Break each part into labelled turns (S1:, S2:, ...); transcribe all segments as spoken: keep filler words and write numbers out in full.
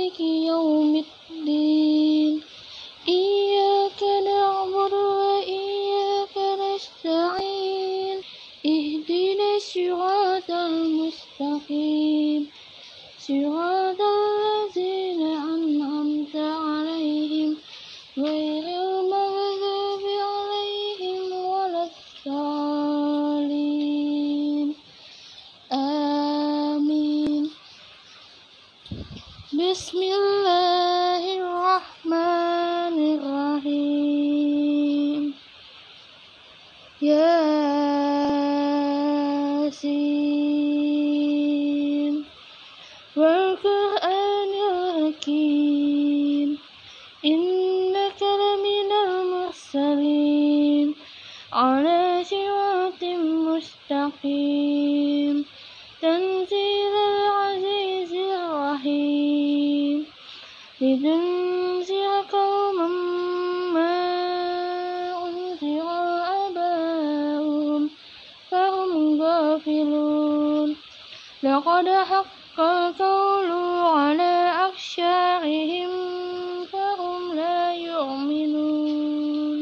S1: مالك يوم الدين إياك نعبد وإياك نستعين اهدنا الصراط المستقيم صراط الذين أنعمت عليهم غير المغضوب عليهم ولا الضالين آمين. بسم الله الرحمن الرحيم ياسين والقرآن الحكيم إنك لمن المرسلين على صراط مستقيم تنزيل العزيز الرحيم لتنذر قوما ما أنذر آباؤهم فهم غافلون لقد حق القول على أكثرهم فهم لا يؤمنون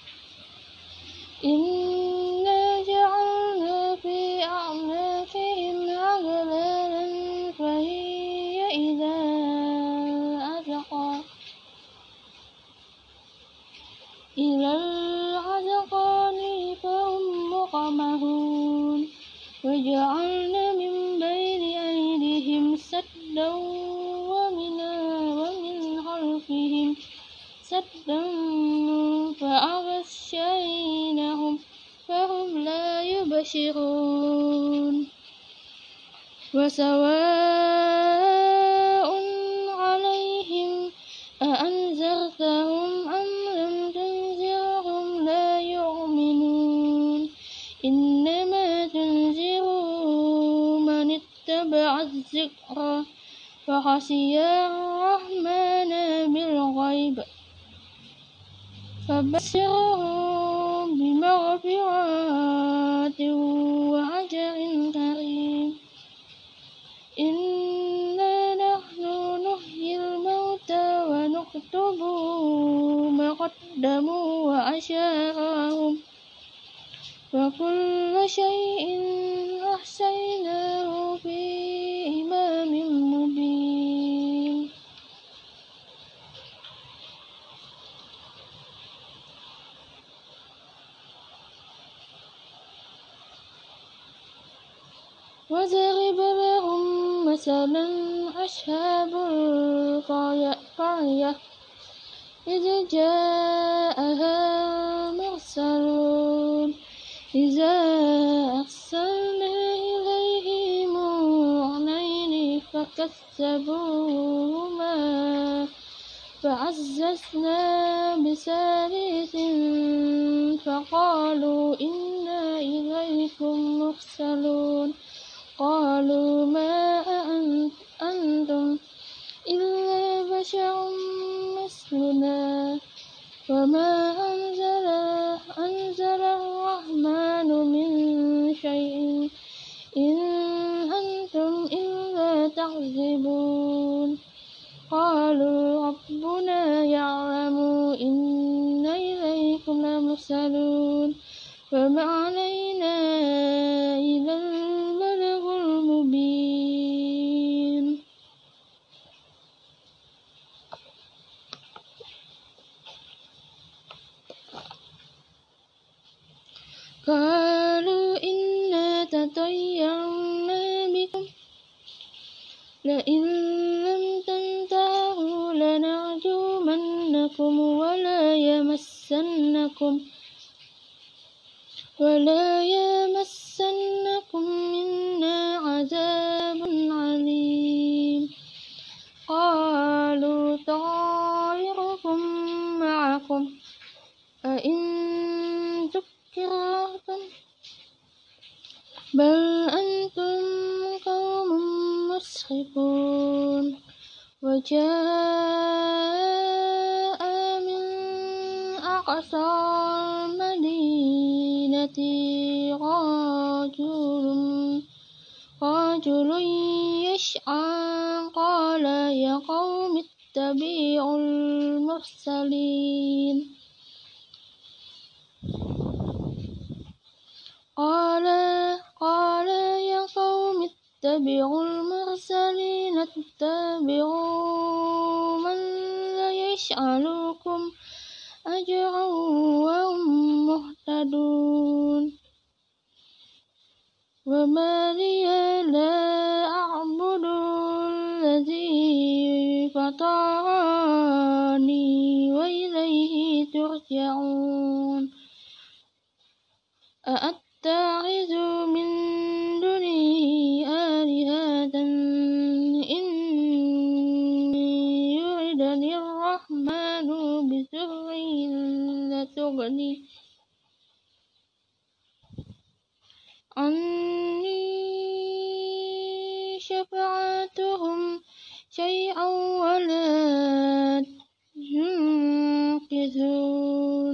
S1: إنا جعلنا في أعناقهم أغلالا فهي إلى الأذقان إلى الأذقان فهم مقمحون وجعلنا من بين أيديهم سدا ومن ومن خلفهم سدا فأغشيناهم فهم لا يبصرون وسواء عليهم أأنذرتهم أم لم تنذرهم لا يؤمنون إنما تنذر من اتبع الذكر وخشي الرحمن بالغيب فبشره بمغفرة وأجر كريم إنا نحن نحيي الموتى ونكتب ما قدموا وآثارهم وكل شيء أحصيناه في إمام مبين. وضرب لهم مثلا أصحاب القرية إذ جاءها المرسلون إذا أرسلنا إليهم اثنين فكذبوهما فعززنا بثالث فقالوا إنا إليكم مرسلون قالوا ما أنتم إلا بشر مثلنا وما أنزل, أنزل الرحمن من شيء إن أنتم إلا تكذبون قالوا ربنا يعلم إنا إليكم لمرسلون وما علينا إلا البلاغ المبين. قالوا إنا تطيرنا بكم لئن لم تنتهوا لنرجمنكم ولا يمسنكم ولا يمسنكم منا عذاب عليم قالوا طائركم معكم أئن ذكرتم بل أنتم قوم مسرفون وجاء من أقصى المدينة رجل رجل يسعى قال يا قوم اتبعوا المرسلين قال قال يا قوم اتبعوا المرسلين اتبعوا من لا يسألكم أجرا وهم مهتدون وما لي لا أعبد الذي فطرني وإليه ترجعون أأتخذ من دونه آلهة إن يردني الرحمن بضر لا تغني عني شفاعتهم شيئا ولا ينقذون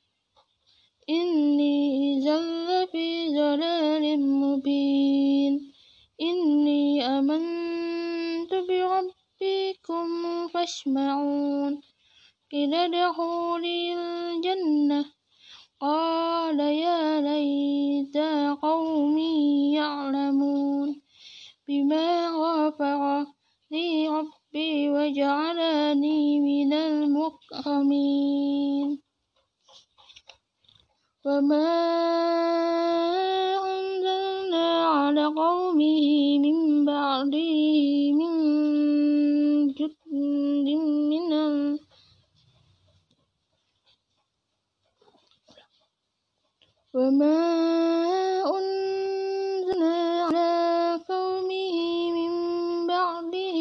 S1: إني إذا لفي ضلال مبين إني آمنت بربكم فاسمعون قيل ادخلوا الجنة قال يا ليت قومي يعلمون بما غفر لي ربي وجعلني من المكرمين وما أنزلنا على قومه من بعده من جند من ال وما أنزلنا على قومه من بعده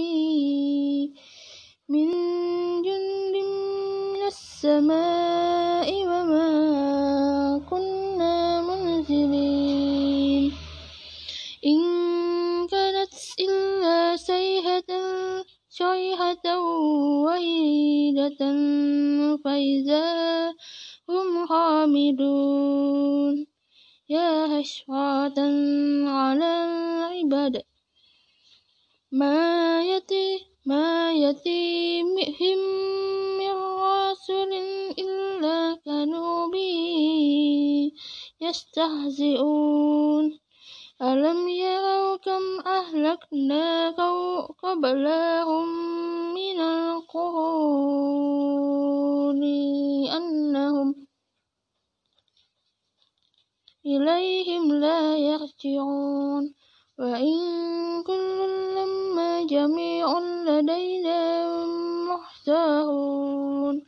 S1: من جند من السماء وما كنا منزلين إن كانت إلا صيحة صيحة واحدة فإذا هم خامدون يا حسرة على العباد ما يأتي ما يأتيهم من رسول إلا كانوا به يستهزئون ألم يروا كم أهلكنا قبلهم من القرون أنهم إليهم لا يرجعون وإن كل لما جميع لدينا محضرون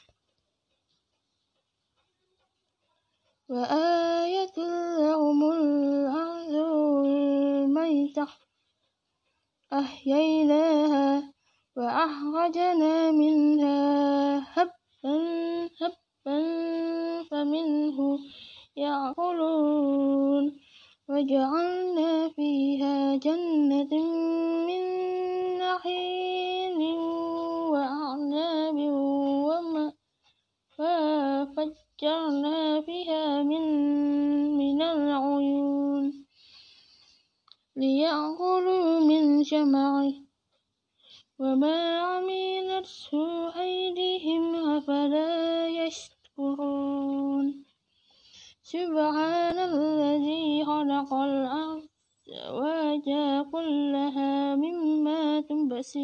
S1: وآية لهم الأرض الميتة أحييناها وأخرجنا منها حبا حبا فمنه يأكلون وجعلنا فيها جنة من نخيل وأعناب وفجرنا فيها من من العيون ليأكلوا من ثمره وما عملته أيديهم أفلا يشكرون سبحان الذي خلق الأرض وجعل كلها مما تنبت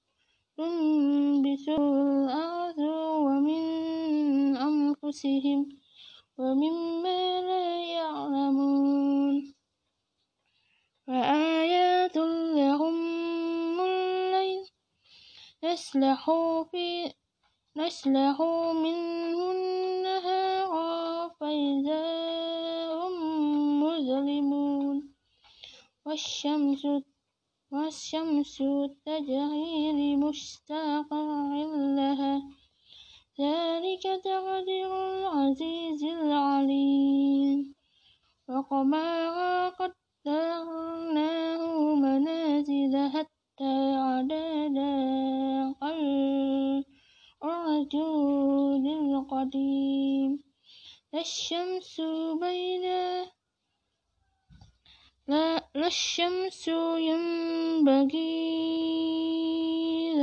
S1: الأرض ومن أنفسهم ومما لا يعلمون وآيات لهم الليل نسلخ في نسلخ منه النهار فإذا هم مظلمون والشمس والشمس تجري لمستقر لها ذلك تقدير العزيز العليم وقمرا قدرناه منازل حتى عدد الرجل القديم لا الشمس بين لا, لا الشمس ينبغي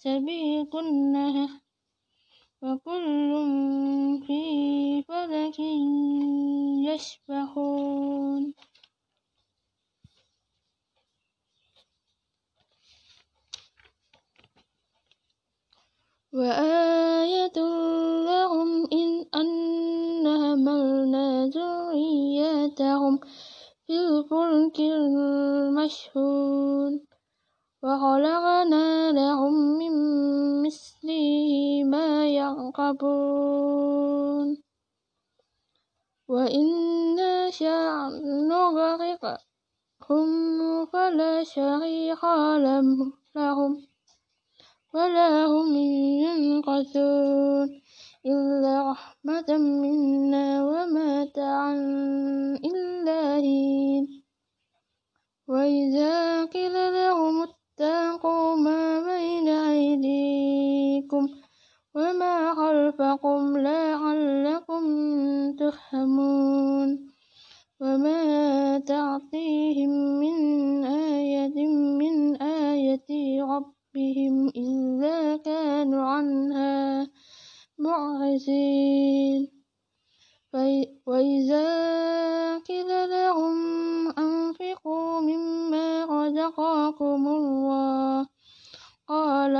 S1: سبيق النهر وكل في فلك يسبحون وآية لهم إن أنا حملنا ذريتهم في الفلك المشحون وخلقنا لهم من مثله ما يركبون وإن نشأ نغرقهم فلا صريخ لهم ولا هم ينقذون إلا رحمة منا ومتاعا إلا حين وإذا قيل لهم اتقوا ما بين أيديكم وما خلفكم لعلكم ترحمون وما تأتيهم من آية من آية ربهم إلا كانوا عنها معرضين وإذا قيل لهم أنفقوا مما رزقكم الله قال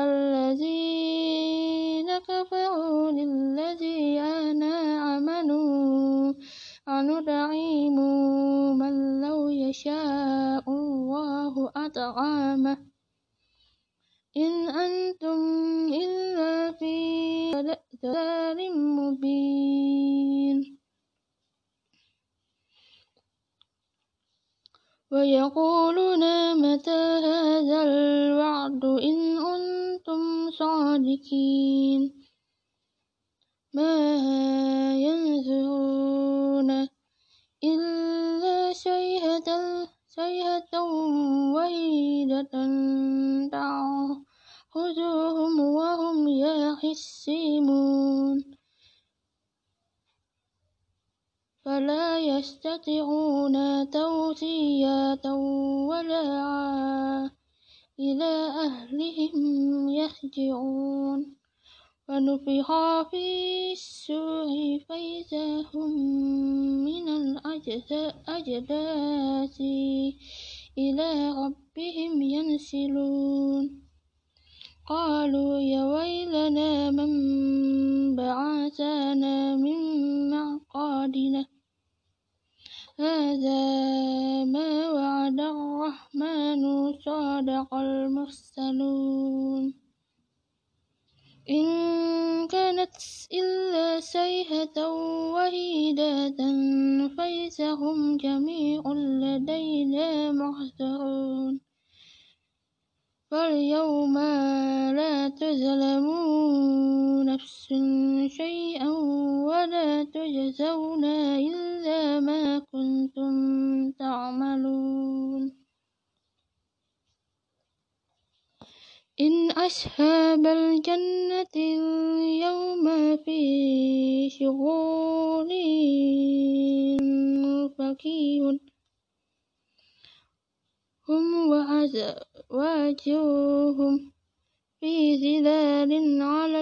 S1: الذين كفروا للذين آمنوا أنطعم من لو يشاء الله أطعمه إن أنتم إلا في ضلال مبين ويقولون متى هذا الوعد إن أنتم صادقين ما ينظرون إلا صيحة صيحة واحدة تأخذهم وهم يخصمون فلا يستطيعون توصية ولا إلى أهلهم يرجعون ونفخ في الصور فإذا هم من الأجداث إلى ربهم ينسلون قالوا يا ويلنا من بعثنا من مرقدنا هذا ما وعد الرحمن صدق المرسلون إن كانت إلا صيحة واحدة فإذا هم جميع لدينا محضرون فاليوم لا تظلم نفس شيئا ولا تجزون إلا ما كنتم تعملون إن أصحاب الجنة اليوم في شغل فكيهون هم وأزواجهم في ظلال على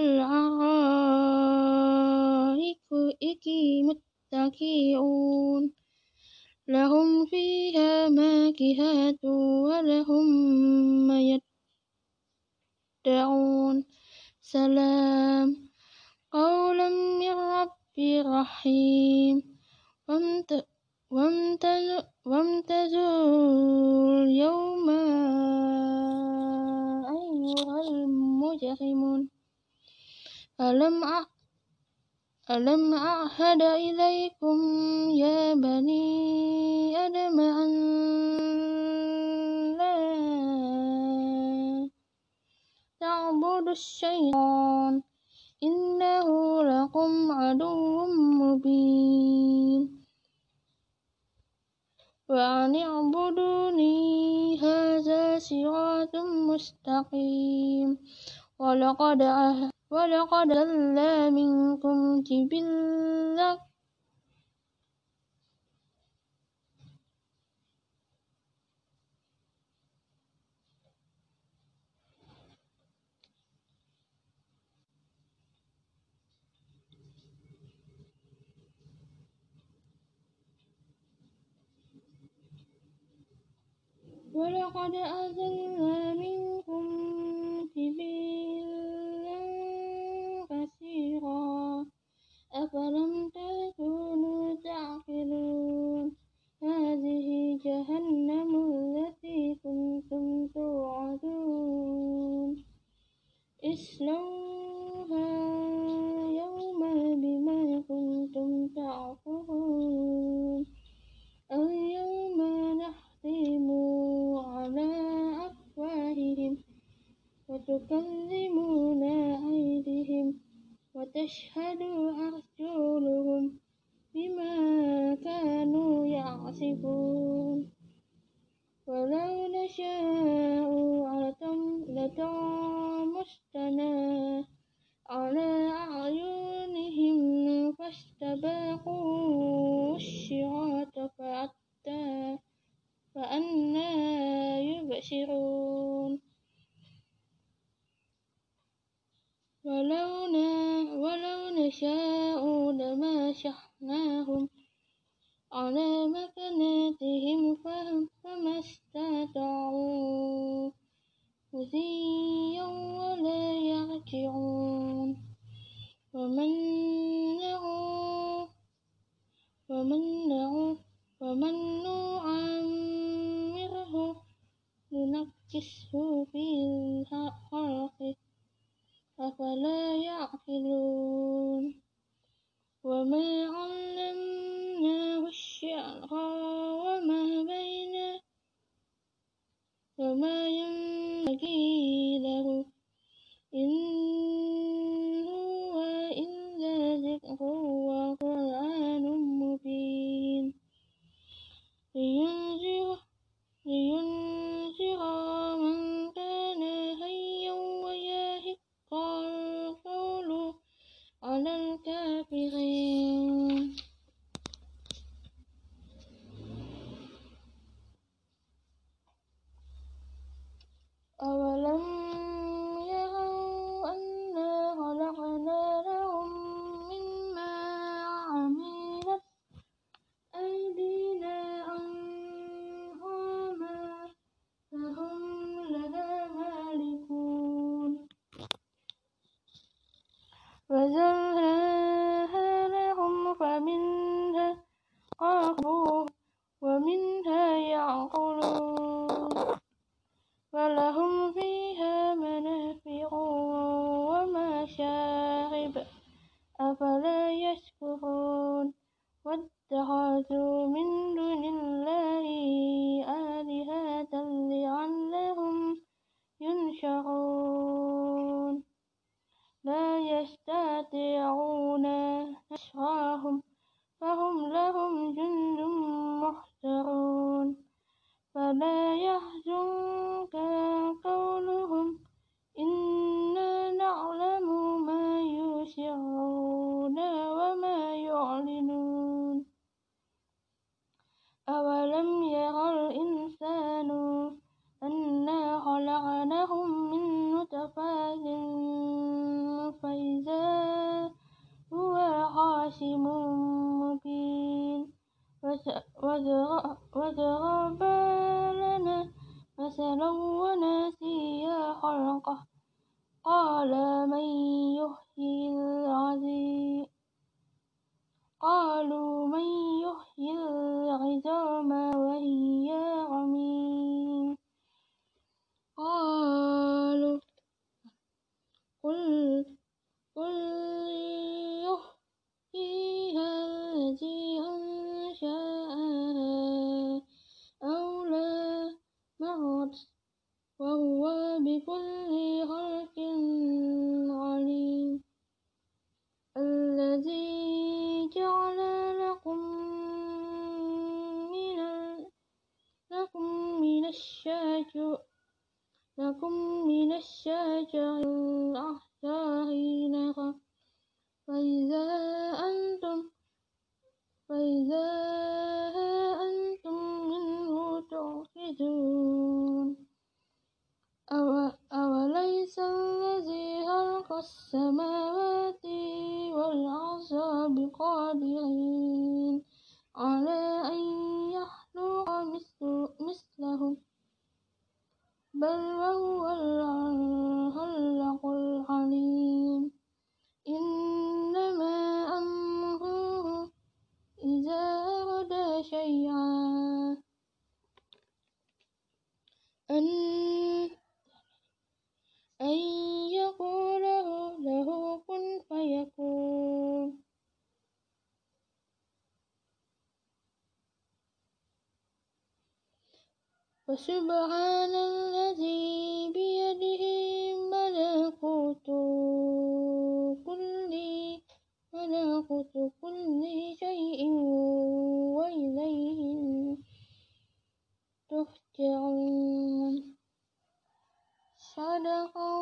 S1: الأرائك متكئون لهم فيها فاكهة ولهم ما يدعون سلام قولا من رب رحيم وامتازوا اليوم أيها المجرمون ألم ألم أعهد إليكم يا بني آدم أن لا تعبدوا الشيطان إنه لكم عدو مبين وأن اعبدوني هذا صراط مستقيم ولقد ولقد ضل منكم جبلا ولقد أرسلنا منكم جبلا كثيرا أفلم تكونوا تعقلون هذه جهنم التي كنتم توعدون اصلوها يوم بما كنتم تعقلون اليوم نختم على أفواههم وتكلمنا أيديهم وتشهد أرجلهم بما كانوا يعصبون ولو نشاء لطمسنا على أعينهم فاستبقوا الصراط فأنى يبصرون ولو ولو نشاء لمسخناهم على مكانتهم فما استطاعوا مضيا ولا يرجعون ومن ومن ومن نعمره ننكسه في الخلق أفلا يعقلون وما علمناه الشعر وما بين وما ينبغي له إن هو إلا ذكر وقرآن مبين لينذر لينذر من كان حيا ويحق القول على الكافرين أولم يروا أنا خلقنا لهم مما عملت أيدينا أنعاما فهم لها مالكون وزرناها لهم فمنها ركبوا ومنها يأكلون ولهم فيها منافع ومشارب أفلا يشكرون واتخذوا من دون الله آلهة لعلهم ينصرون لا يستطيعون نصرهم فهم لهم جند محضرون فلا يحزنك قولهم إنا نعلم ما يسرون وما يعلنون أولم يرى الإنسان أنا خلقناه من نطفة فإذا هو خصيم مبين وضرب لنا مثلا ونسي خلقه قال من يحيي العظيم قالوا من يحيي العظام وهي رميم قالوا قل قل يحييها الذي أنشأها أول مرة وهو بكل خلق عليم الذي جعل لكم من لكم من الشجر لكم من الشجر الأخضر نارا فإذا أنتم فإذا أنتم منه توقدون أوليس الذي خلق السماوات والأرض بقادر على أن يخلق مثلهم بل وهو الخلاق العليم إنما أمره إذا أراد شيئا أن أن يقول له كن فيكون فسبحان الذي بيده ملكوت كل ملكوت كل شيء وإليه ترجعون صدق